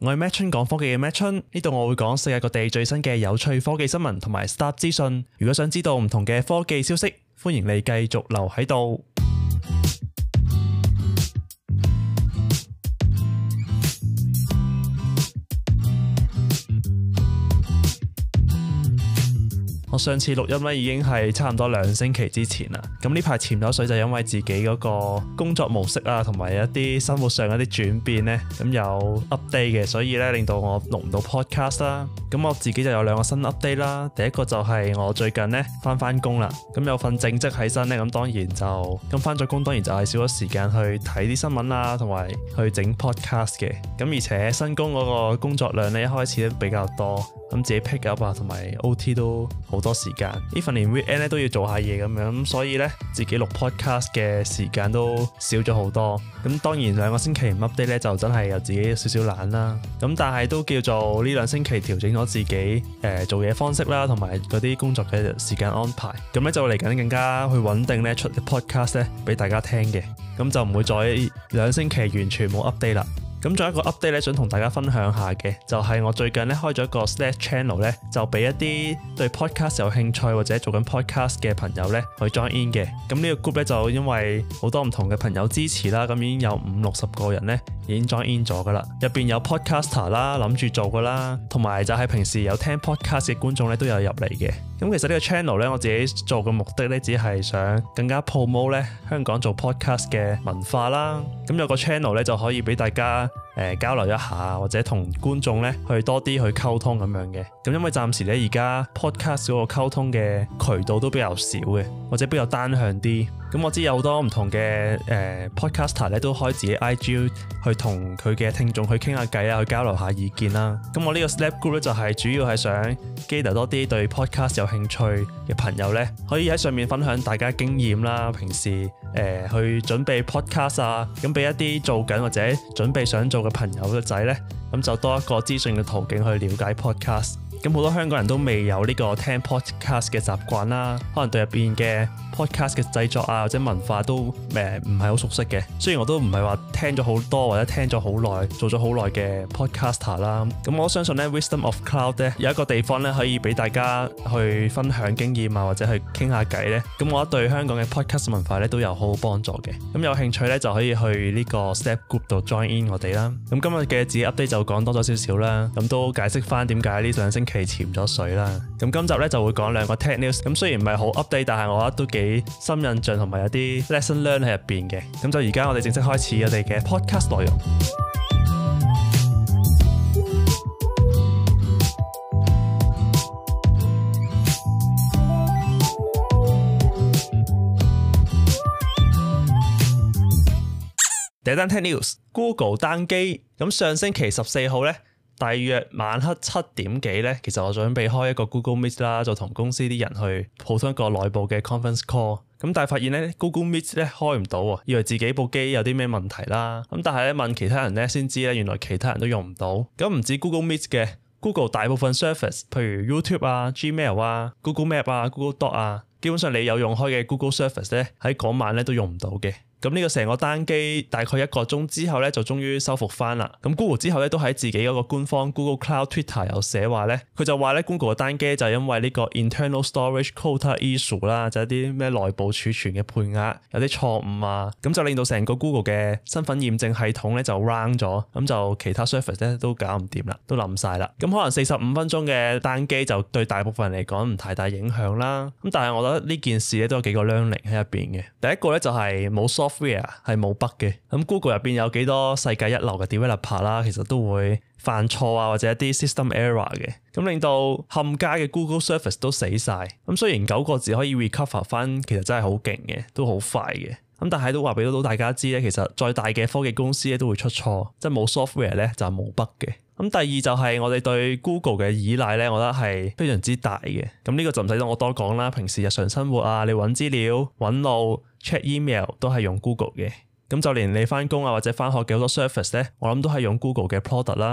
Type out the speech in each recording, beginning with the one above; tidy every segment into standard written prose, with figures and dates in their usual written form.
我係 Madchun 講科技嘅 Madchun，呢度我會講世界各地最新嘅有趣科技新聞同埋 Startup 資訊。如果想知道唔同嘅科技消息，歡迎你繼續留喺度。我上次錄音咧已經係差唔多2星期之前啦，咁呢排潛咗水就因為自己嗰個工作模式啊，同埋一啲生活上一啲轉變咧，咁有 update 嘅，所以咧令到我錄唔到 podcast 啦。咁我自己就有2個新 update 啦，第一個就係我最近咧翻工啦，咁有份正職喺身咧，咁當然就翻咗工，當然就係少咗時間去睇啲新聞啦，同埋去整 podcast 嘅。咁而且新工嗰個工作量咧一開始都比較多，咁自己 pick up 啊，同埋 OT 都好多時間，even 連 weekend 咧都要做下嘢咁樣，咁所以咧自己錄 podcast 嘅時間都少咗好多。咁當然2個星期唔 update 咧就真係有自己少少懶啦。咁但係都叫做呢2星期調整咗自己做嘢方式啦，同埋嗰啲工作嘅時間安排。咁咧就嚟緊更加去穩定咧出 podcast 咧俾大家聽嘅。咁就唔會再2星期完全冇 update 啦。咁仲有一個 update 咧，想同大家分享下嘅，就係我最近咧開咗一個 Slack channel 咧，就俾一啲對 podcast 有興趣或者做緊 podcast 嘅朋友咧去 join in 嘅。咁呢個 group 咧就因為好多唔同嘅朋友支持啦，咁已經有50-60個人咧已經 join in 咗噶啦。入邊有 podcaster 啦，諗住做噶啦，同埋就係平時有聽 podcast 嘅觀眾咧都有入嚟嘅。咁其實呢個 channel 咧，我自己做嘅目的咧，只係想更加 promote 咧香港做 podcast 嘅文化啦。咁有個 channel 咧就可以俾大家交流一下，或者同觀眾咧去多啲去溝通咁樣嘅。咁因為暫時咧而家 podcast 嗰個溝通嘅渠道都比較少嘅，或者比較單向啲。咁我知有好多唔同嘅podcaster 咧都開自己 IG 去同佢嘅聽眾去傾下偈啊，去交流下意見啦。咁我呢個 Slack group 咧就係主要係想 gather 多啲對 podcast 有興趣嘅朋友咧，可以喺上面分享大家經驗啦，平時去準備 podcast 啊，咁俾一啲做緊或者準備想做嘅朋友嘅仔咧，咁就多一個資訊嘅途徑去了解 podcast。咁好多香港人都未有呢個聽 podcast 嘅習慣啦，可能對入邊嘅 podcast 嘅製作啊或者文化都唔係好熟悉嘅。雖然我都唔係話聽咗好多或者聽咗好耐做咗好耐嘅 podcaster 啦，咁我相信咧 Wisdom of Cloud 咧有一個地方咧可以俾大家去分享經驗啊或者去傾下偈咧，咁我覺得對香港嘅 podcast 文化咧都有好好幫助嘅。咁有興趣咧就可以去呢個 Slack group 度 join in 我哋啦。咁今日嘅自己 update 就講多咗少少啦，咁都解釋翻點解呢2星期潛咗水啦。咁今集咧就會講2個 tech news， 咁雖然唔係好 update， 但係我覺得都幾深印象同埋有啲 lesson learn 喺入邊嘅。咁就而家我哋正式開始我哋嘅 podcast 內容。第一單 tech news， Google 單機。咁上星期14號咧，大約晚黑7點幾咧，其實我準備開一個 Google Meet 啦，就同公司啲人去普通一個內部嘅 conference call。咁但係發現咧 Google Meet 咧開唔到喎，以為自己部機有啲咩問題啦。咁但係咧問其他人咧先知咧，原來其他人都用唔到。咁唔止 Google Meet 嘅 ，Google 大部分 service， 譬如 YouTube 啊、Gmail 啊、Google Map 啊、Google Doc 啊，基本上你有用開嘅 Google service 咧，喺嗰晚咧都用唔到嘅。咁呢個成個單機大概1個鐘之後咧，就終於修復翻啦。咁 Google 之後咧都喺自己嗰個官方 Google Cloud Twitter 有寫話咧，佢就話咧 Google 嘅單機就係因為呢個 internal storage quota issue 啦，就係啲咩內部儲存嘅配額有啲錯誤啊，咁就令到成個 Google 嘅身份驗證系統咧就 round 咗，咁就其他 service 咧都搞唔掂啦，都冧晒啦。咁可能45分鐘嘅單機就對大部分人嚟講唔太大影響啦。咁但係我覺得呢件事咧都有幾個 learning 喺入邊嘅。第一個咧就係冇 software 係冇 bug 嘅。咁 Google 入邊有幾多世界一流嘅 developer 啦，其實都會犯錯啊，或者一啲 system error 嘅，咁令到冚家嘅 Google Service 都死晒。咁雖然9個字可以 recover 翻，其實真係好勁嘅，都好快嘅。咁但係都話俾到大家知咧，其實再大嘅科技公司咧都會出錯，即係冇 software 咧就係冇 bug 嘅。咁第二就係我哋對 Google 嘅依賴咧，我覺得係非常之大嘅。咁呢個就唔使我多講啦，平時日常生活啊，你揾資料、揾路、check email 都係用 Google 嘅。咁就連你翻工啊或者翻學嘅好多 service 咧，我諗都係用 Google 嘅 product 啦。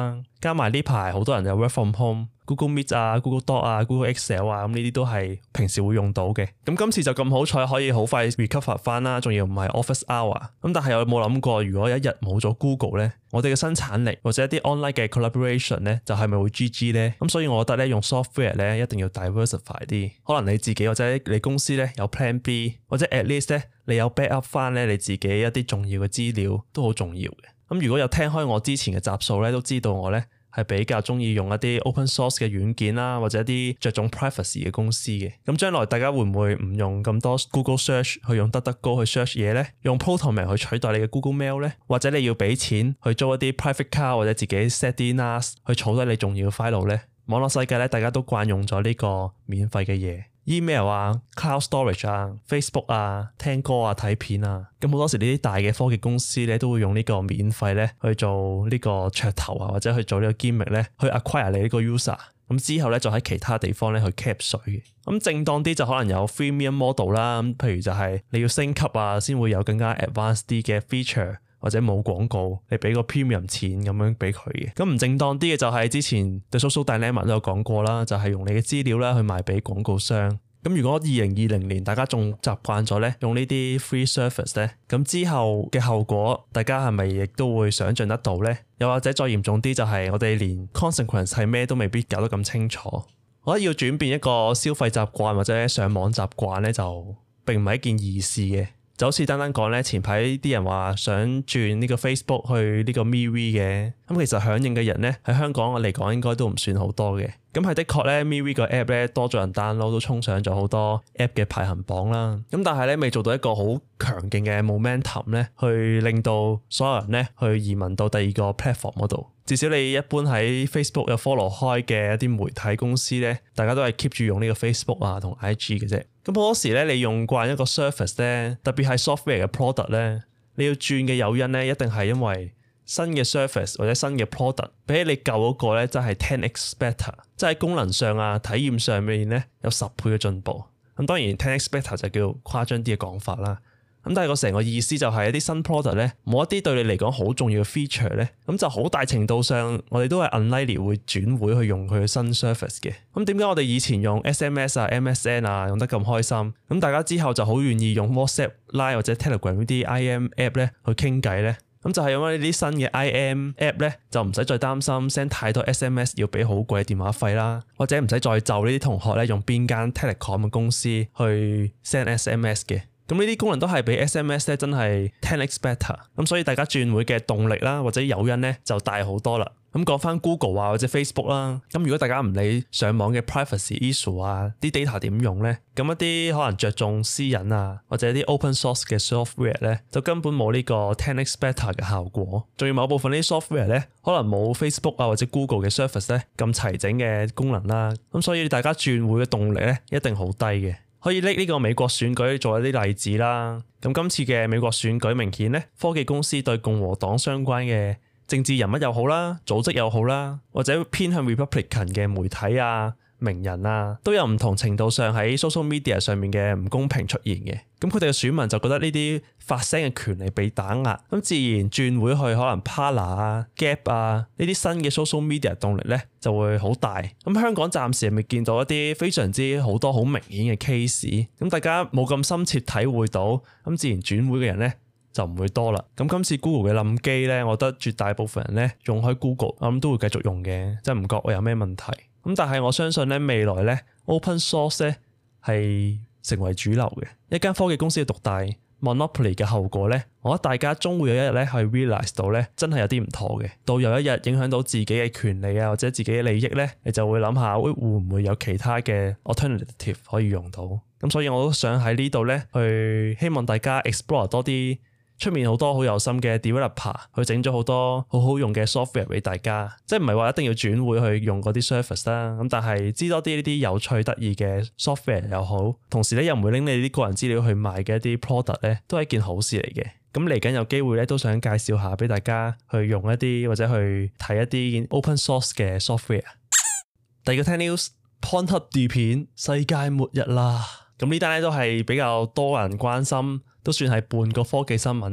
加埋呢排好多人有 work from home。Google Meet 啊 ，Google Doc 啊 ，Google Excel 啊，咁呢啲都係平時會用到嘅。咁今次就咁好彩可以好快 recover 翻啦，仲要唔係 office hour。咁但係有冇諗過，如果有一日冇咗 Google 咧，我哋嘅生產力或者一啲 online 嘅 collaboration 咧，就係咪會 GG 咧？咁所以我覺得咧，用 software 咧一定要 diversify 啲。可能你自己或者你公司咧有 plan B， 或者 at least 咧你有 backup 翻咧你自己一啲重要嘅資料都好重要嘅。咁如果有聽開我之前嘅集數咧，都知道我咧係比較中意用一啲 open source 嘅軟件啦，或者一啲着重 privacy 嘅公司嘅。咁將來大家會唔會唔用咁多 Google Search 去用DuckDuckGo去 search 嘢呢？用 Proton 去取代你嘅 Google Mail 呢？或者你要俾錢去租一啲 private car 或者自己 set 啲 NAS 去儲低你重要嘅 file 呢？網絡世界咧，大家都慣用咗呢個免費嘅嘢。email 啊 cloud storage 啊 Facebook 啊聽歌啊睇片啊，咁好多時呢啲大嘅科技公司咧都會用呢個免費咧去做呢個噱頭啊，或者去做呢個 gimmick 咧去 acquire 你呢個 user， 咁之後咧就喺其他地方咧去 cap 水嘅。咁正當啲就可能有 freemium model 啦，咁譬如就係你要升級啊先會有更加 advanced 啲嘅 feature，或者冇廣告，你俾個 premium 錢咁樣俾佢嘅。咁唔正當啲嘅就係之前 The Social Dilemma 都有講過啦，就係用你嘅資料啦去賣俾廣告商。咁如果2020年大家仲習慣咗咧用呢啲 free service 咧，咁之後嘅後果大家係咪亦都會想像得到咧？又或者再嚴重啲就係我哋連 consequence 係咩都未必搞得咁清楚。我覺得要轉變一個消費習慣或者上網習慣咧，就並唔係一件易事嘅。就好似單單講咧，前排啲人話想轉呢個 Facebook 去呢個 MeWe 嘅，咁其實響應嘅人咧喺香港嚟講應該都唔算好多嘅。咁係的確咧 MeWe 個 app 咧多咗人 download，都衝上咗好多 app 嘅排行榜啦。咁但係咧未做到一個好強勁嘅 momentum 咧，去令到所有人咧去移民到第二個 platform 嗰度。至少你一般喺 Facebook 有 follow 開嘅一啲媒體公司咧，大家都係 keep 住用呢個 Facebook 啊同 IG 嘅啫。咁好多時咧，你用慣一個 service 咧，特別係 software 嘅 product 咧，你要轉嘅誘因咧，一定係因為新嘅 service 或者新嘅 product 比起你舊嗰個咧，真係 10x better， 即係喺功能上啊、體驗上面咧有10倍嘅進步。咁當然 10x better 就叫誇張啲嘅講法啦。咁但係個成個意思就係一啲新 product 咧，冇一啲對你嚟講好重要嘅 feature 咧，咁就好大程度上我哋都係 unlikely 會轉會去用佢嘅新 service 嘅。咁點解我哋以前用 SMS 啊、MSN 啊用得咁開心，咁大家之後就好願意用 WhatsApp、Line 或者 Telegram 呢啲 IM app 咧去傾偈咧？咁就係因為呢啲新嘅 IM app 咧，就唔使再擔心 send 太多 SMS 要俾好貴嘅電話費啦，或者唔使再就呢啲同學咧用邊間 Telecom 嘅公司去 send SMS 嘅。咁呢啲功能都係比 SMS 咧真係 10x better， 咁所以大家轉會嘅動力啦或者誘因咧就大好多啦。咁講翻 Google 啊或者 Facebook 啦，咁如果大家唔理上網嘅 privacy issue 啊，啲 data 點用咧，咁一啲可能着重私隱啊或者一啲 open source 嘅 software 咧，就根本冇呢個 10x better 嘅效果。仲要某部分呢啲 software 咧，可能冇 Facebook 啊或者 Google 嘅 service 咧咁齊整嘅功能啦。咁所以大家轉會嘅動力咧一定好低嘅。可以拎呢個美國選舉做一啲例子啦。咁今次嘅美國選舉明顯咧，科技公司對共和黨相關嘅政治人物又好啦，組織又好啦，或者偏向 Republican 嘅媒體啊、名人啊，都有唔同程度上喺 social media 上面嘅唔公平出現嘅。咁佢哋嘅選民就覺得呢啲發聲嘅權利被打壓，咁自然轉會去可能 Parler 啊、Gap 啊呢啲新嘅 social media 動力咧就會好大。咁香港暫時係未見到一啲非常之好多好明顯嘅 case， 咁大家冇咁深切體會到，咁自然轉會嘅人咧就唔會多啦。咁今次 Google 嘅冧機咧，我覺得絕大部分人咧用開 Google， 我諗都會繼續用嘅，即係唔覺我有咩問題。咁但係我相信咧未來咧 open source 咧係成為主流嘅。一間科技公司嘅獨大 monopoly 嘅後果咧，我覺得大家終會有一日咧去 realize 到咧真係有啲唔妥嘅。到有一日影響到自己嘅權利啊或者自己嘅利益咧，你就會諗下會唔會有其他嘅 alternative 可以用到。咁所以我都想喺呢度咧去希望大家 explore 多啲。出面好多好有心嘅 developer 去整咗好多好好用嘅 software 俾大家，即係唔係話一定要轉會去用嗰啲 service 啦，咁但係知多啲呢啲有趣得意嘅 software 又好，同時咧又唔會拎你啲個人資料去賣嘅一啲 product 咧，都係一件好事嚟嘅。咁嚟緊有機會咧都想介紹下俾大家去用一啲或者去睇一啲 open source 嘅 software。第二個聽 news， Pornhub 斷片，世界末日啦！咁呢單咧都係比較多人關心，都算係半個科技新聞啦。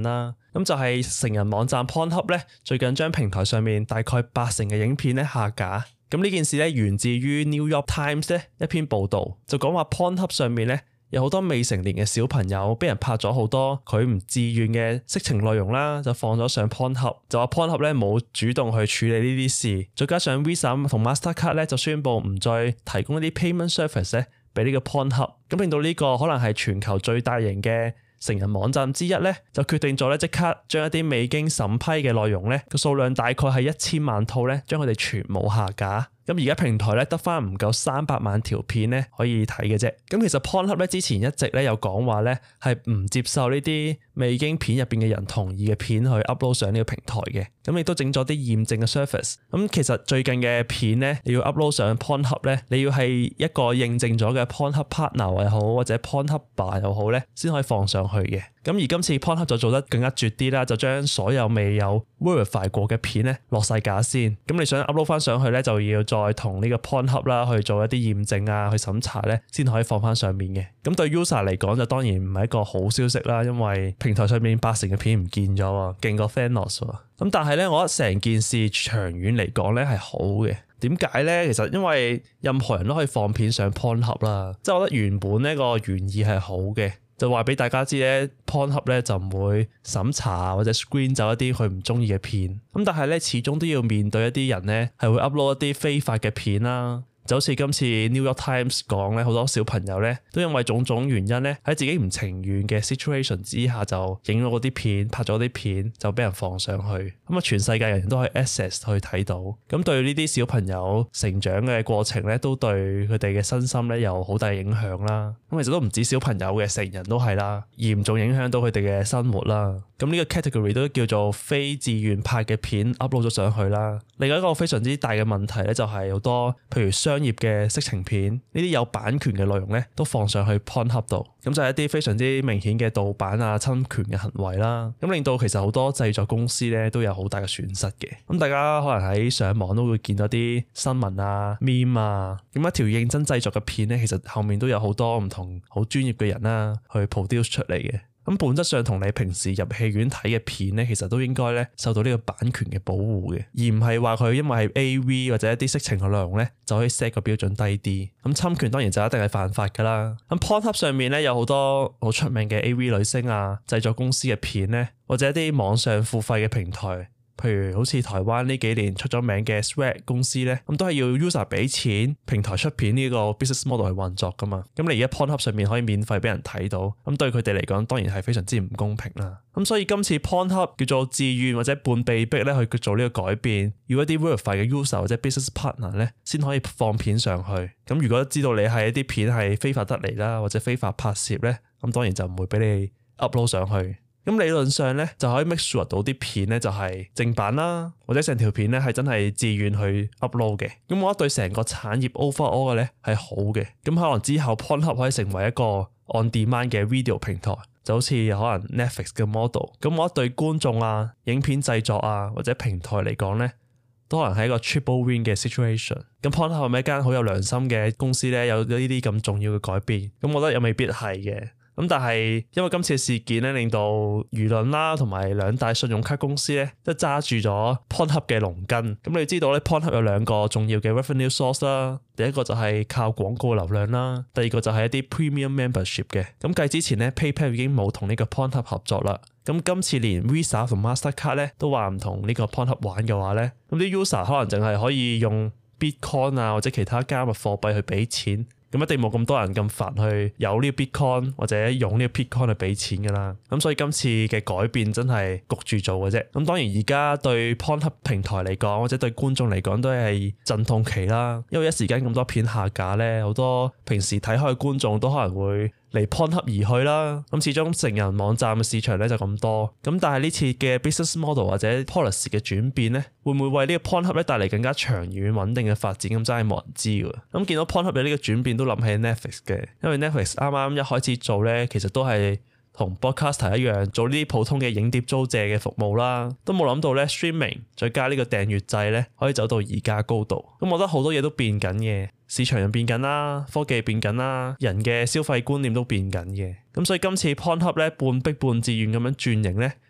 咁就係成人網站 Pornhub 咧，最近將平台上面大概80%嘅影片咧下架。咁呢件事咧源自於 New York Times 咧一篇報導，就講話 Pornhub 上面咧有好多未成年嘅小朋友俾人拍咗好多佢唔自願嘅色情內容啦，就放咗上 Pornhub， 就話 Pornhub 咧冇主動去處理呢啲事，再加上 Visa 同 Mastercard 咧就宣布唔再提供一啲 payment service 咧俾呢個 Pornhub， 咁令到呢個可能係全球最大型嘅成人網站之一咧，就決定咗咧即刻將一啲未經審批嘅內容咧個數量大概係1000萬套咧，將佢哋全部下架。咁而家平台咧得翻唔夠300萬條片咧可以睇嘅啫。咁其實 Pornhub 咧之前一直咧有講話咧係唔接受呢啲未經片入邊嘅人同意嘅片去 upload 上呢個平台嘅。咁亦都整咗啲驗證嘅 service。咁其實最近嘅片咧你要 upload 上 Pornhub 咧，你要係一個認證咗嘅 Pornhub partner 又好或者 Pornhub bar 又好咧，先可以放上去嘅。咁而今次 Pornhub 就做得更加絕啲啦，就將所有未有 verify 過嘅片咧落晒架先。咁你想 upload 翻上去咧，就要再同呢個 Pornhub 啦去做一啲驗證啊，去審查咧，先可以放翻上面嘅。咁對 user 嚟講就當然唔係一個好消息啦，因為平台上面80%嘅片唔見咗喎，勁過 Thanos 喎。咁但係咧，我覺得成件事長遠嚟講咧係好嘅。點解咧？其實因為任何人都可以放片上 Pornhub 啦，即係我覺得原本呢個原意係好嘅。就話俾大家知咧 Pornhub 咧就唔會審查或者 screen 走一啲佢唔中意嘅片。咁但係咧始終都要面對一啲人咧係會 upload 一啲非法嘅片啦。就好似今次 New York Times 講咧，好多小朋友咧都因為種種原因咧喺自己唔情願嘅 situation 之下就影咗嗰啲片，拍咗啲片就俾人放上去。咁啊，全世界人都可以 access 去睇到。咁對呢啲小朋友成長嘅過程咧，都對佢哋嘅身心咧有好大影響啦。咁其實都唔止小朋友嘅，成人都係啦，嚴重影響到佢哋嘅生活啦。咁呢個 category 都叫做非自願拍嘅片 upload 咗上去啦。另外一個非常之大嘅問題咧，就係好多譬如商業嘅色情片，呢啲有版權嘅內容咧，都放上去 Pornhub 度，咁就係一啲非常之明顯嘅盜版啊、侵權嘅行為啦。咁令到其實好多製作公司咧都有好大嘅損失嘅。咁大家可能喺上網都會見到啲新聞啊、meme 啊，咁一條認真製作嘅片咧，其實後面都有好多唔同好專業嘅人啦去 produce 出嚟嘅。咁本質上同你平時入戲院睇嘅片咧，其實都應該咧受到呢個版權嘅保護嘅，而唔係話佢因為係 AV 或者一啲色情嘅內容咧就可以 set 個標準低啲。咁侵權當然就一定係犯法噶啦。咁 Pornhub 上面咧有好多好出名嘅 AV 女星啊、製作公司嘅片咧，或者一啲網上付費嘅平台。譬如好似台灣呢幾年出咗名嘅 Swag 公司咧，咁都係要 user 俾錢，平台出片呢個 business model 去運作噶嘛。咁你而家 Pornhub 上面可以免費俾人睇到，咁對佢哋嚟講當然係非常之唔公平啦。咁所以今次 Pornhub 叫做自願或者半被逼咧去做呢個改變，要一啲 verify 嘅 user 或者 business partner 咧先可以放片上去。咁如果知道你係一啲片係非法得嚟啦，或者非法拍攝咧，咁當然就唔會俾你 upload 上去。咁理論上咧就可以 make sure 到啲片咧就係正版啦，或者成條片咧係真係自願去 upload 嘅。咁我覺得對成個產業 overall 嘅咧係好嘅。咁可能之後 Pornhub 可以成為一個 on demand 嘅 video 平台，就好似可能 Netflix 嘅 model。咁我覺得對觀眾啊、影片製作啊或者平台嚟講咧，都可能係一個 triple win 嘅 situation。咁 Pornhub 係咪一間好有良心嘅公司咧？有呢啲咁重要嘅改變，咁我覺得又未必係嘅。咁但係因為今次嘅事件咧，令到輿論啦同埋兩大信用卡公司咧都揸住咗 Pornhub 嘅龍根。咁你知道咧 Pornhub 有兩個重要嘅 revenue source 啦，第一個就係靠廣告流量啦，第二個就係一啲 premium membership 嘅。咁繼之前咧 PayPal 已經冇同呢個 Pornhub 合作啦。咁今次連 Visa 同 Mastercard 咧都話唔同呢個 Pornhub 玩嘅話咧，咁啲 user 可能淨係可以用 Bitcoin 啊或者其他加密貨幣去俾錢。咁一定冇咁多人咁煩去有呢個 Bitcoin 或者用呢個 Bitcoin 去俾錢㗎啦。咁所以今次嘅改變真係焗住做嘅啫。咁當然而家對 Pornhub 平台嚟講或者對觀眾嚟講都係陣痛期啦。因為一時間咁多片下架咧，好多平時睇開嘅觀眾都可能會離 Pornhub 而去啦。咁始終成人網站嘅市場咧就咁多。咁但係呢次嘅 business model 或者 policy 嘅轉變咧，會唔會為呢個 Pornhub 咧帶嚟更加長遠穩定嘅發展？咁真係冇人知㗎。咁見到 Pornhub 有呢個轉變都諗起 Netflix 嘅，因為 Netflix 啱啱一開始做咧，其實都係同 Broadcaster 一樣做呢啲普通嘅影碟租借嘅服務啦，都冇諗到咧 streaming 再加呢個訂閱制咧，可以走到而家高度。咁我覺得好多嘢都變緊嘅，市場又變緊啦，科技變緊啦，人嘅消費觀念都變緊嘅。咁所以今次 Pornhub 咧半逼半自願咁樣轉型咧，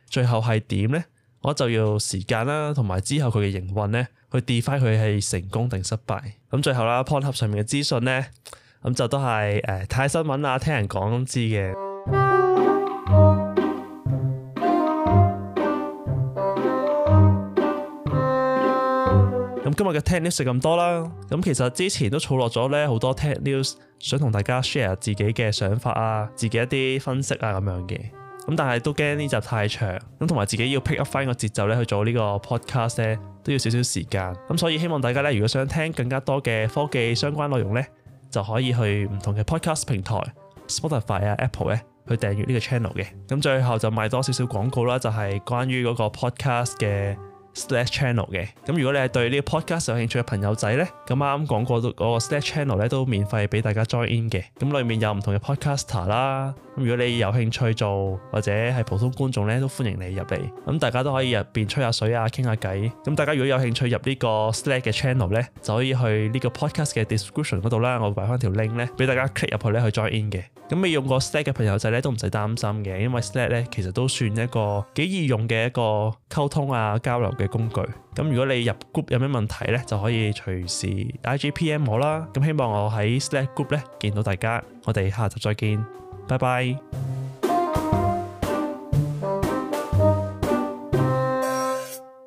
最後係點呢？我就要時間啦，同埋之後佢嘅營運呢，去 define 佢係成功定失敗。咁最後啦 ，Pornhub 上面嘅資訊呢，咁就都係睇新聞啊，聽人講知嘅。咁今日嘅 Tech News 就咁多啦。咁其實之前都儲落咗呢好多 Tech News，想同大家 share 自己嘅想法啊，自己一啲分析啊咁樣嘅。咁但係都驚呢集太長，咁同埋自己要 pick up 翻個節奏咧去做呢個 podcast 咧，都要少少時間。咁所以希望大家咧，如果想聽更加多嘅科技相關內容咧，就可以去唔同嘅 podcast 平台 Spotify 啊 Apple 咧去訂閱呢個 channel 嘅。咁最後就賣多少少廣告啦，就係關於嗰個 podcast 嘅Slack channel 嘅。咁如果你係對呢個 podcast 有興趣嘅朋友仔呢，咁啱講過嗰個 Slack channel 咧都免費俾大家 join in 嘅。咁裡面有唔同嘅 podcaster 啦。咁如果你有興趣做或者係普通觀眾呢，都歡迎你入嚟。咁大家都可以入邊吹下水啊，傾下偈。咁大家如果有興趣入呢個 Slack 嘅 channel 呢，就可以去呢個 podcast 嘅 description 嗰度啦。我擺翻條 link 呢，俾大家 click 入去呢去 join in 嘅。咁未用過 Slack 嘅朋友仔呢，都唔使擔心嘅，因為 Slack 呢其實都算一個幾易用嘅一個溝通啊交流嘅工具。咁如果你入 group 有咩問題呢，就可以隨時 IGPM 我啦。咁希望我喺 Slack group 呢見到大家，我哋下集再見，拜拜。